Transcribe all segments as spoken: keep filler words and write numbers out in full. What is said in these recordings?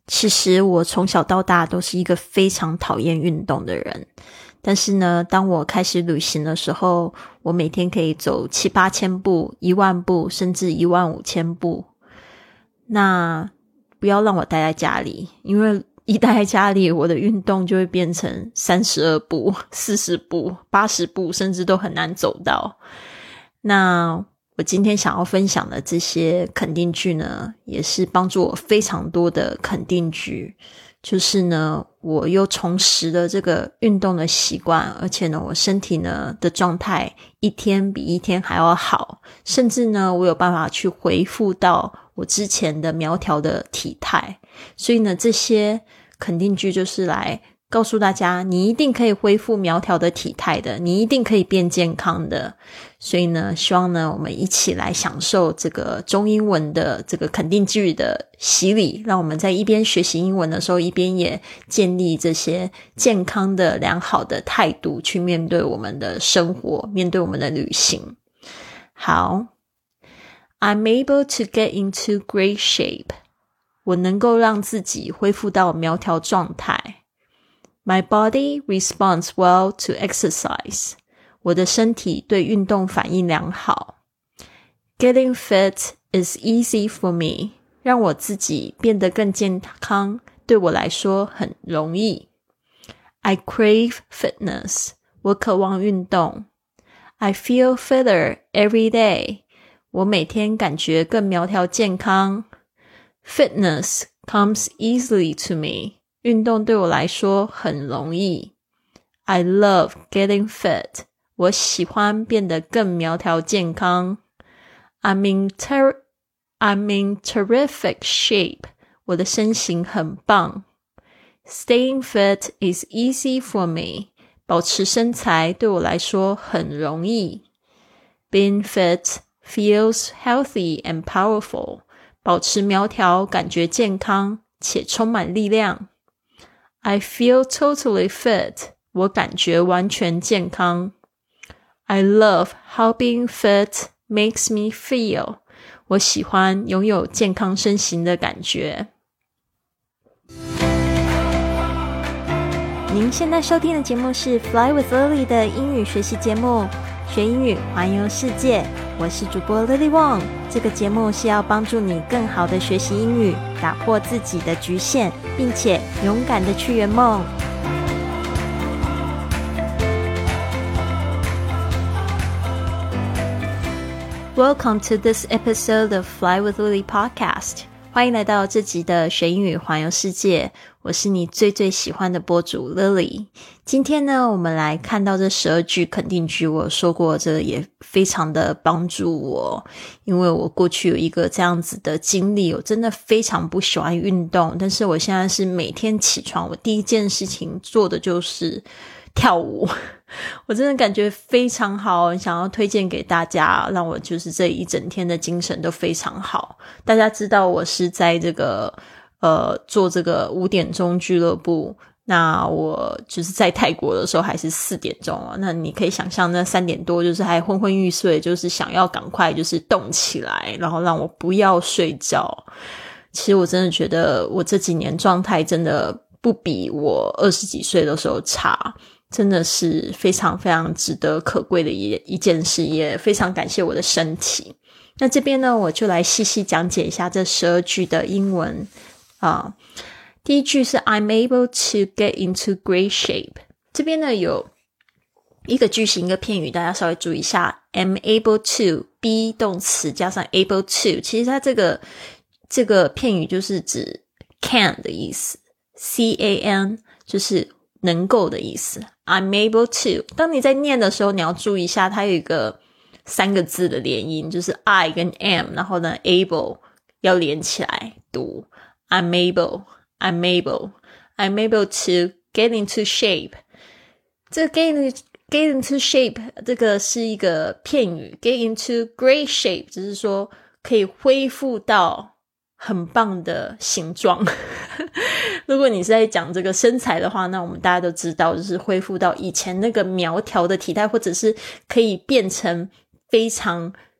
其实我从小到大都是一个非常讨厌运动的人，但是呢，当我开始旅行的时候，我每天可以走七八千步、一万步，甚至一万五千步。那不要让我待在家里，因为一待在家里，我的运动就会变成三十二步、四十步、八十步，甚至都很难走到。那我今天想要分享的这些肯定句呢，也是帮助我非常多的肯定句。就是呢，我又重拾了这个运动的习惯，而且呢，我身体呢的状态一天比一天还要好，甚至呢，我有办法去恢复到我之前的苗条的体态。所以呢，这些肯定句就是来告诉大家，你一定可以恢复苗条的体态的，你一定可以变健康的。所以呢，希望呢，我们一起来享受这个中英文的这个肯定句的洗礼，让我们在一边学习英文的时候，一边也建立这些健康的良好的态度，去面对我们的生活，面对我们的旅行。好， I'm able to get into great shape. 我能够让自己恢复到苗条状态。My body responds well to exercise. 我的身体对运动反应良好。Getting fit is easy for me. 让我自己变得更健康，对我来说很容易。I crave fitness. 我渴望运动。I feel fitter every day. 我每天感觉更苗条健康。Fitness comes easily to me.运动对我来说很容易。I love getting fit. 我喜欢变得更苗条健康。I'm in, ter- I'm in terrific shape. 我的身形很棒。Staying fit is easy for me. 保持身材对我来说很容易。Being fit feels healthy and powerful. 保持苗条感觉健康且充满力量。I feel totally fit. 我感觉完全健康。I love how being fit makes me feel. 我喜欢拥有健康身形的感觉。您现在收听的节目是 Fly with Lily 的英语学习节目，学英语环游世界。我是主播 Lily Wong。这个节目是要帮助你更好的学习英语，打破自己的局限，并且勇敢的去圆梦。Welcome to this episode of Fly with Lily podcast. 欢迎来到这集的学英语环游世界，我是你最最喜欢的播主 Lily。 今天呢，我们来看到这十二句肯定句，我说过这个也非常的帮助我，因为我过去有一个这样子的经历，我真的非常不喜欢运动，但是我现在是每天起床，我第一件事情做的就是跳舞。我真的感觉非常好，想要推荐给大家，让我就是这一整天的精神都非常好。大家知道我是在这个呃做这个五点钟俱乐部，那我就是在泰国的时候还是四点钟啊，那你可以想象那三点多就是还昏昏欲睡，就是想要赶快就是动起来，然后让我不要睡觉。其实我真的觉得我这几年状态真的不比我二十几岁的时候差，真的是非常非常值得可贵的一一件事，也非常感谢我的身体。那这边呢，我就来细细讲解一下这十二句的英文啊。第一句是 I'm able to get into great shape。 这边呢有一个句型一个片语，大家稍微注意一下。 I'm able to be 动词加上 able to， 其实它这个这个片语就是指 can 的意思， C A N 就是能够的意思。 I'm able to， 当你在念的时候你要注意一下，它有一个三个字的连音，就是 I 跟 am， 然后呢 able 要连起来读。 I'm able I'm able I'm able to get into shape。 这个 get into, get into shape 这个是一个片语， get into great shape 就是说可以恢复到很棒的形状。如果你是在讲这个身材的话，那我们大家都知道就是恢复到以前那个苗条的体态，或者是可以变成非常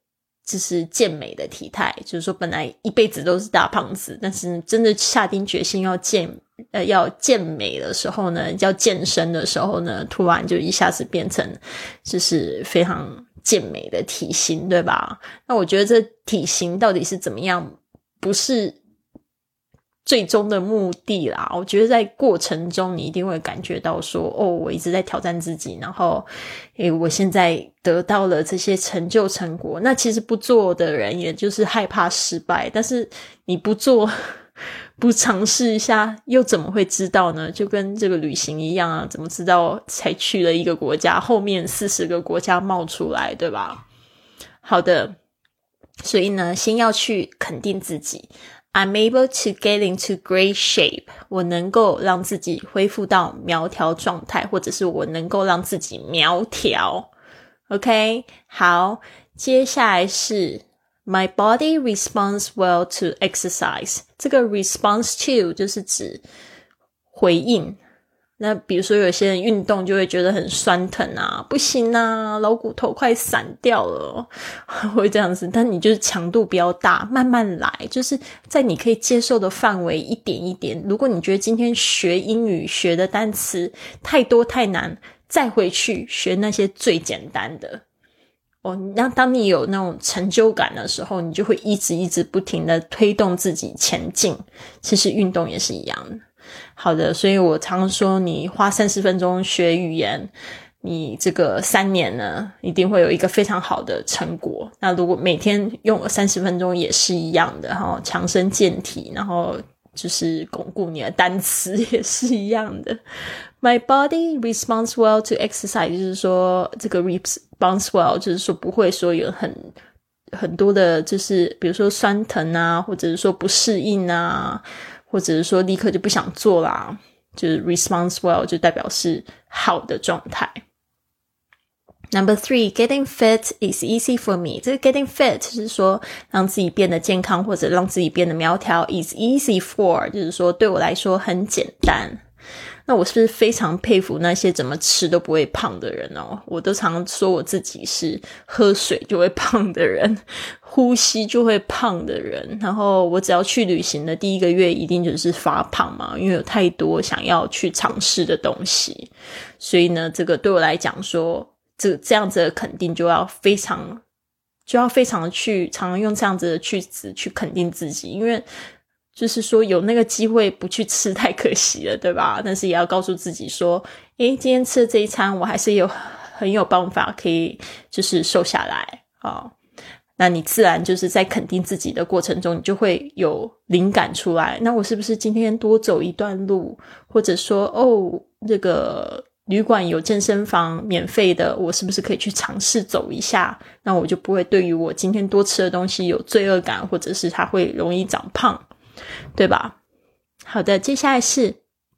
就是健美的体态，就是说本来一辈子都是大胖子，但是真的下定决心要健呃要健美的时候呢，要健身的时候呢，突然就一下子变成就是非常健美的体型，对吧？那我觉得这体型到底是怎么样，不是最终的目的啦，我觉得在过程中你一定会感觉到说，哦，我一直在挑战自己，然后诶我现在得到了这些成就成果。那其实不做的人也就是害怕失败，但是你不做不尝试一下又怎么会知道呢？就跟这个旅行一样啊，怎么知道才去了一个国家，后面四十个国家冒出来，对吧？好的，所以呢，先要去肯定自己。I'm able to get into great shape. 我能够让自己恢复到苗条状态，或者是我能够让自己苗条。OK， 好，接下来是 My body responds well to exercise. 这个 response to 就是指回应。那比如说有些人运动就会觉得很酸疼啊，不行啊，老骨头快散掉了，会这样子。但你就是强度不要大，慢慢来，就是在你可以接受的范围，一点一点。如果你觉得今天学英语学的单词太多太难，再回去学那些最简单的。哦，那当你有那种成就感的时候，你就会一直一直不停的推动自己前进。其实运动也是一样的。好的，所以我常说你花三十分钟学语言，你这个三年呢一定会有一个非常好的成果。那如果每天用三十分钟也是一样的，然后强身健体，然后就是巩固你的单词也是一样的。My body responds well to exercise， 就是说这个 responds well 就是说不会说有很很多的就是比如说酸疼啊，或者是说不适应啊，或者是说立刻就不想做啦，就是 response well 就代表是好的状态。Number three, getting fit is easy for me. 这个 getting fit 是说让自己变得健康或者让自己变得苗条 is easy for 就是说对我来说很简单。那我是不是非常佩服那些怎么吃都不会胖的人哦？我都常说我自己是喝水就会胖的人，呼吸就会胖的人，然后我只要去旅行的第一个月一定就是发胖嘛，因为有太多想要去尝试的东西。所以呢，这个对我来讲说这这样子的肯定就要非常就要非常去常常用这样子的句子去肯定自己，因为就是说有那个机会不去吃太可惜了，对吧？但是也要告诉自己说，诶，今天吃的这一餐我还是有很有办法可以就是瘦下来哦。那你自然就是在肯定自己的过程中，你就会有灵感出来。那我是不是今天多走一段路，或者说哦，这个旅馆有健身房免费的，我是不是可以去尝试走一下？那我就不会对于我今天多吃的东西有罪恶感，或者是它会容易长胖，对吧？好的，接下来是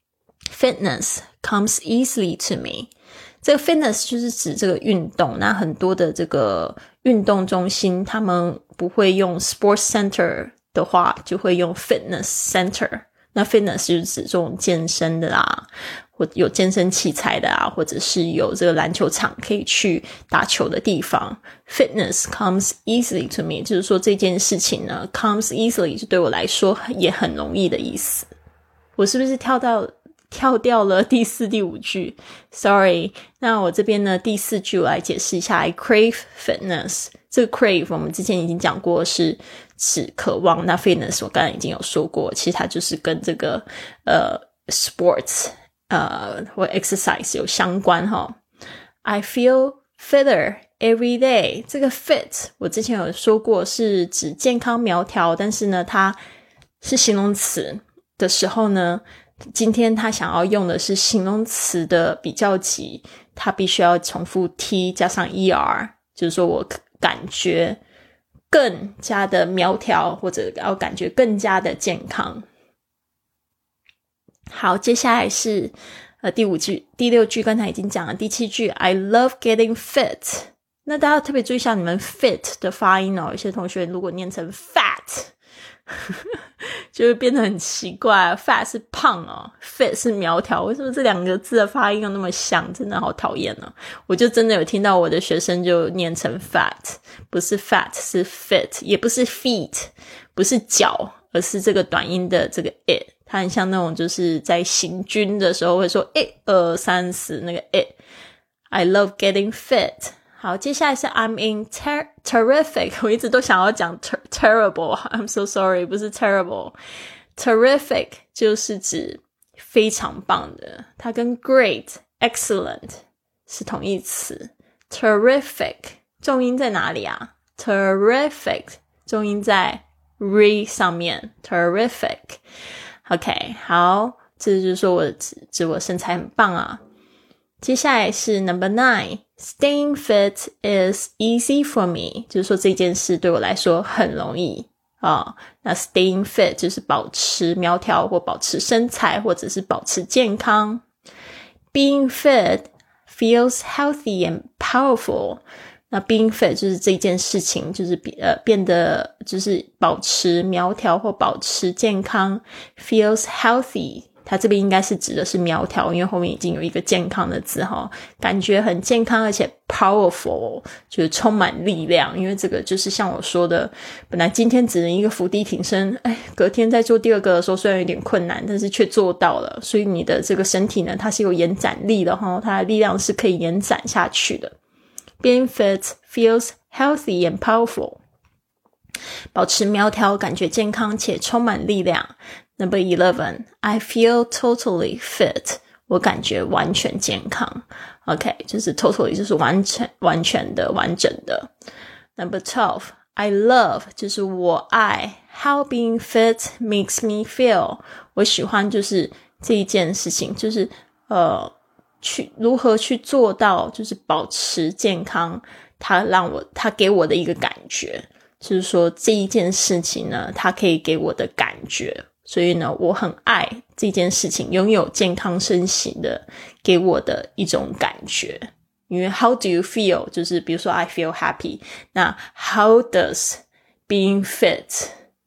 fitness comes easily to me。 这个 fitness 就是指这个运动，那很多的这个运动中心他们不会用 sports center 的话，就会用 fitness center。那 fitness 就是指这种健身的啦，或有健身器材的啊，或者是有这个篮球场可以去打球的地方。 Fitness comes easily to me 就是说这件事情呢 comes easily 就对我来说也很容易的意思。我是不是跳到跳掉了第四第五句 Sorry， 那我这边呢第四句我来解释一下。 I crave fitness， 这个 crave 我们之前已经讲过是指渴望，那 fitness 我刚才已经有说过，其实它就是跟这个呃 sports 呃或 exercise 有相关齁。 I feel fitter every day， 这个 fit 我之前有说过是指健康苗条，但是呢它是形容词的时候呢，今天他想要用的是形容词的比较级，他必须要重复 t 加上 er， 就是说我感觉更加的苗条，或者要感觉更加的健康。好，接下来是呃第五句，第六句刚才已经讲了，第七句 I love getting fit。 那大家特别注意一下你们 fit 的发音哦，有些同学如果念成 fat 就会变得很奇怪。 fat 是胖哦， fit 是苗条，为什么这两个字的发音又那么像？真的好讨厌哦。我就真的有听到我的学生就念成 fat， 不是 fat 是 fit， 也不是 feet， 不是脚，而是这个短音的这个 it， 它很像那种就是在行军的时候会说一二三四那个 it。 I love getting fit。好，接下来是 I'm in ter- terrific， 我一直都想要讲 ter- terrible， I'm so sorry， 不是 terrible。 Terrific 就是指非常棒的，它跟 great excellent 是同义词。 Terrific 重音在哪里啊？ Terrific 重音在 re 上面。 Terrific OK， 好，这就是说我指指我身材很棒啊。接下来是 number nine， Staying fit is easy for me， 就是说这件事对我来说很容易哦。那 staying fit 就是保持苗条或保持身材或者是保持健康。 Being fit feels healthy and powerful， 那 being fit 就是这件事情就是呃变得就是保持苗条或保持健康。 Feels healthy，它这边应该是指的是苗条，因为后面已经有一个健康的字齁，感觉很健康，而且 powerful 就是充满力量。因为这个就是像我说的，本来今天只能一个伏地挺身，哎，隔天在做第二个的时候虽然有点困难，但是却做到了，所以你的这个身体呢，它是有延展力的齁，它的力量是可以延展下去的。 Being fit feels healthy and powerful， 保持苗条，感觉健康且充满力量。Number eleven, I feel totally fit， 我感觉完全健康。 OK， 就是 totally 就是完全完全的完整的。Number twelve, I love 就是我爱 how being fit makes me feel， 我喜欢就是这一件事情，就是呃去如何去做到就是保持健康，它让我它给我的一个感觉，就是说这一件事情呢，它可以给我的感觉，所以呢我很爱这件事情，拥有健康身形的给我的一种感觉。因为 how do you feel 就是比如说 I feel happy， 那 how does being fit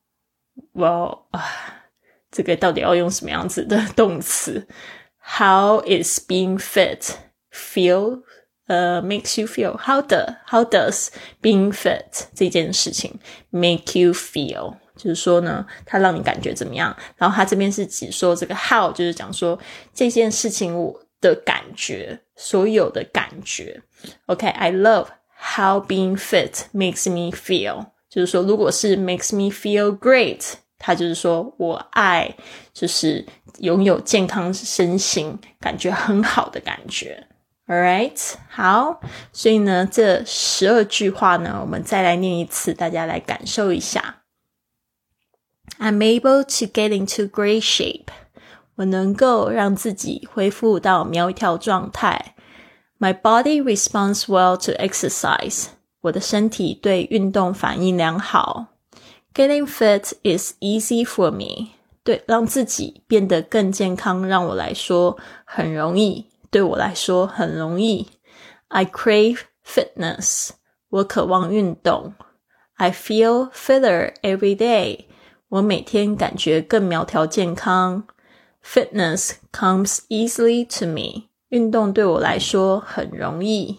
well 啊，这个到底要用什么样子的动词？ How is being fit feel呃、uh, makes you feel how, the, how does being fit 这件事情 make you feel，就是说呢它让你感觉怎么样。然后它这边是指说这个 how 就是讲说这件事情我的感觉，所有的感觉。 OK， I love how being fit makes me feel， 就是说如果是 makes me feel great， 它就是说我爱就是拥有健康身形感觉很好的感觉。 Alright， 好，所以呢这十二句话呢我们再来念一次，大家来感受一下。I'm able to get into great shape， 我能够让自己恢复到苗条状态。 My body responds well to exercise， 我的身体对运动反应良好。 Getting fit is easy for me， 对，让自己变得更健康让我来说很容易，对我来说很容易。 I crave fitness， 我渴望运动。 I feel fitter every day，我每天感觉更苗条健康。 Fitness comes easily to me， 运动对我来说很容易。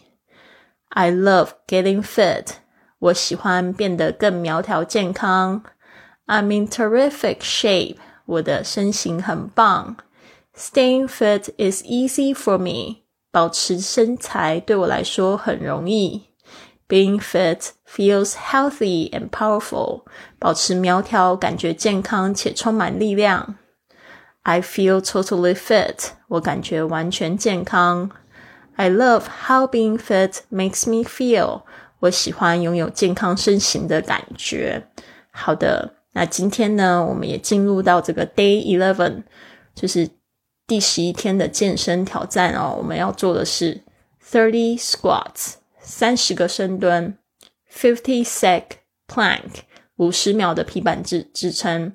I love getting fit， 我喜欢变得更苗条健康。 I'm in terrific shape， 我的身形很棒。 Staying fit is easy for me， 保持身材对我来说很容易。Being fit feels healthy and powerful， 保持苗条感觉健康且充满力量。 I feel totally fit， 我感觉完全健康。 I love how being fit makes me feel， 我喜欢拥有健康身形的感觉。好的，那今天呢我们也进入到这个 day eleven， 就是第十一天的健身挑战哦。我们要做的是thirty squats，三十个深蹲 fifty sec plank， 五十秒的皮板支支撑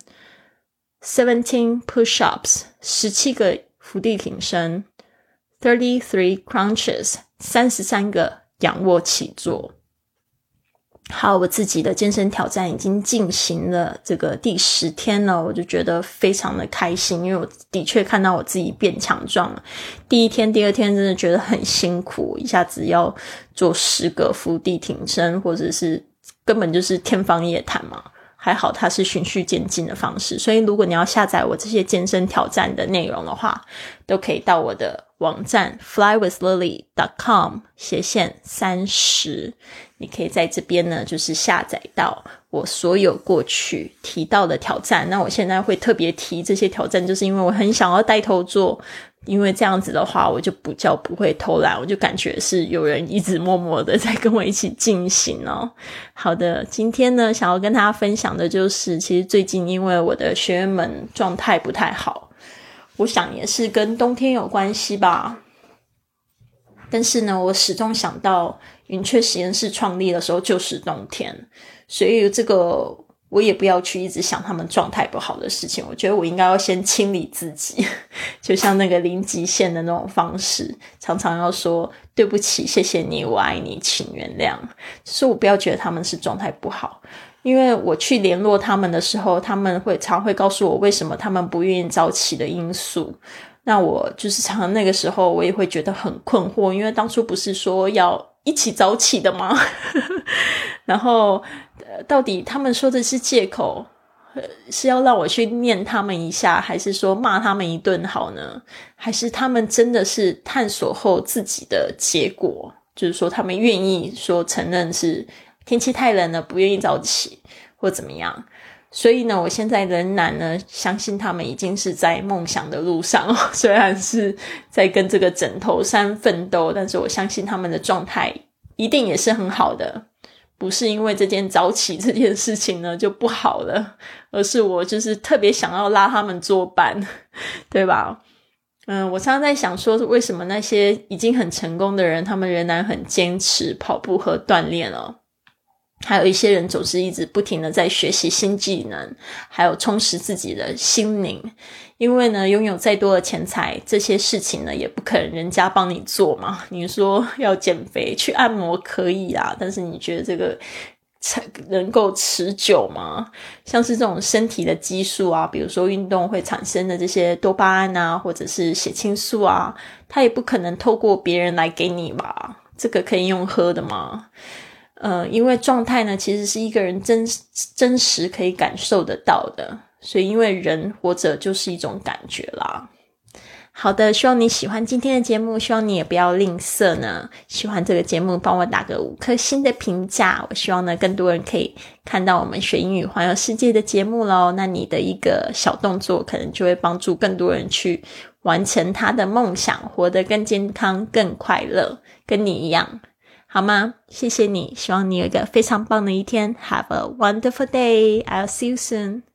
seventeen push-ups， 十七个伏地挺身 thirty-three crunches， 三十三个仰卧起坐。 好，我自己的健身挑战已经进行了这个第十天了，我就觉得非常的开心，因为我的确看到我自己变强壮了。第一天第二天真的觉得很辛苦，一下子要做十个伏地挺身，或者是根本就是天方夜谭嘛。还好它是循序渐进的方式，所以如果你要下载我这些健身挑战的内容的话，都可以到我的网站 fly with lily dot com 斜线三十，你可以在这边呢就是下载到我所有过去提到的挑战。那我现在会特别提这些挑战，就是因为我很想要带头做，因为这样子的话我就不叫不会偷懒，我就感觉是有人一直默默的在跟我一起进行哦。好的，今天呢想要跟大家分享的就是其实最近因为我的学员们状态不太好，我想也是跟冬天有关系吧，但是呢我始终想到云雀实验室创立的时候就是冬天，所以这个我也不要去一直想他们状态不好的事情，我觉得我应该要先清理自己，就像那个零极限的那种方式，常常要说对不起，谢谢你，我爱你，请原谅，就是我不要觉得他们是状态不好，因为我去联络他们的时候，他们会常会告诉我为什么他们不愿意早起的因素，那我就是常常那个时候我也会觉得很困惑，因为当初不是说要一起早起的吗？然后、呃、到底他们说的是借口、呃、是要让我去念他们一下，还是说骂他们一顿好呢？还是他们真的是探索后自己的结果，就是说他们愿意说承认是天气太冷了不愿意早起或怎么样。所以呢我现在仍然呢相信他们已经是在梦想的路上、哦、虽然是在跟这个枕头山奋斗，但是我相信他们的状态一定也是很好的，不是因为这件早起这件事情呢就不好了，而是我就是特别想要拉他们作伴，对吧？嗯，我常常在想说为什么那些已经很成功的人他们仍然很坚持跑步和锻炼哦，还有一些人总是一直不停的在学习新技能，还有充实自己的心灵，因为呢拥有再多的钱财，这些事情呢也不可能人家帮你做嘛。你说要减肥去按摩可以啦，但是你觉得这个能够持久吗？像是这种身体的激素啊，比如说运动会产生的这些多巴胺啊，或者是血清素啊，它也不可能透过别人来给你吧，这个可以用喝的吗？呃，因为状态呢其实是一个人真真实可以感受得到的，所以因为人活着就是一种感觉啦。好的，希望你喜欢今天的节目，希望你也不要吝啬呢，喜欢这个节目帮我打个五颗星的评价，我希望呢更多人可以看到我们学英语环游世界的节目咯，那你的一个小动作可能就会帮助更多人去完成他的梦想，活得更健康更快乐，跟你一样好吗？谢谢你，希望你有一个非常棒的一天。 Have a wonderful day. I'll see you soon.